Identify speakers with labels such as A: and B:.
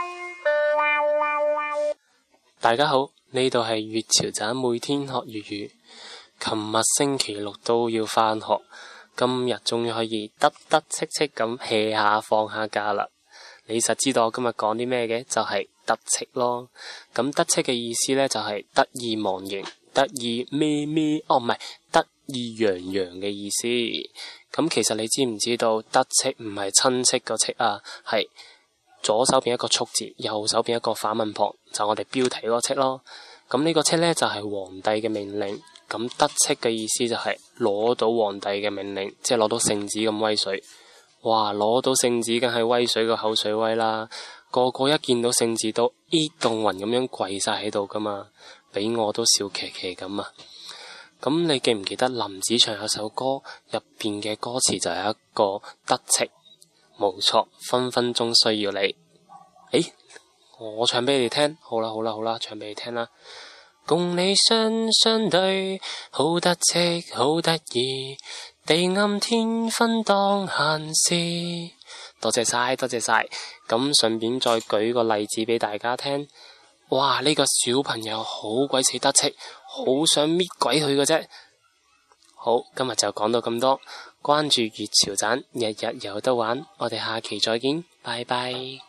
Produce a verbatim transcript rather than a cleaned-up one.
A: 大家好，呢度係粵潮站，每天學粵語。琴日星期六都要返學，今日終於可以得得戚戚咁 hea 下放下假啦。你實知道我今日講啲咩嘅？就係得戚咯。咁得戚嘅意思呢，就係得意忘形、得意咩咩，哦唔係得意洋洋嘅意思。咁其實你知唔知道得戚唔係親戚個戚啊？係左手邊一個畜字，右手邊一個反問旁，就我哋標題嗰個戚咯。咁呢個戚呢，就係皇帝嘅命令。咁得戚嘅意思就係攞到皇帝嘅命令，即係攞到聖旨咁威水。哇！攞到聖旨梗係威水個口水威啦，個個一見到聖旨都咦動魂咁樣跪晒喺度噶嘛，俾我都笑騎騎咁啊！咁你記唔記得林子祥有首歌入邊嘅歌詞就係一個得戚？冇錯，分分鐘需要你。誒，我唱俾你哋聽，好啦好啦好啦，唱俾你聽啦。共你雙雙對，好得戚好得意，地暗天昏當閒事。多謝晒多謝晒，咁順便再舉個例子俾大家聽。哇，呢個小朋友好鬼死得戚，好想搣鬼佢嘅啫。好，今日就講到咁多，關注粵潮盞，日日有得玩，我哋下期再見，拜拜。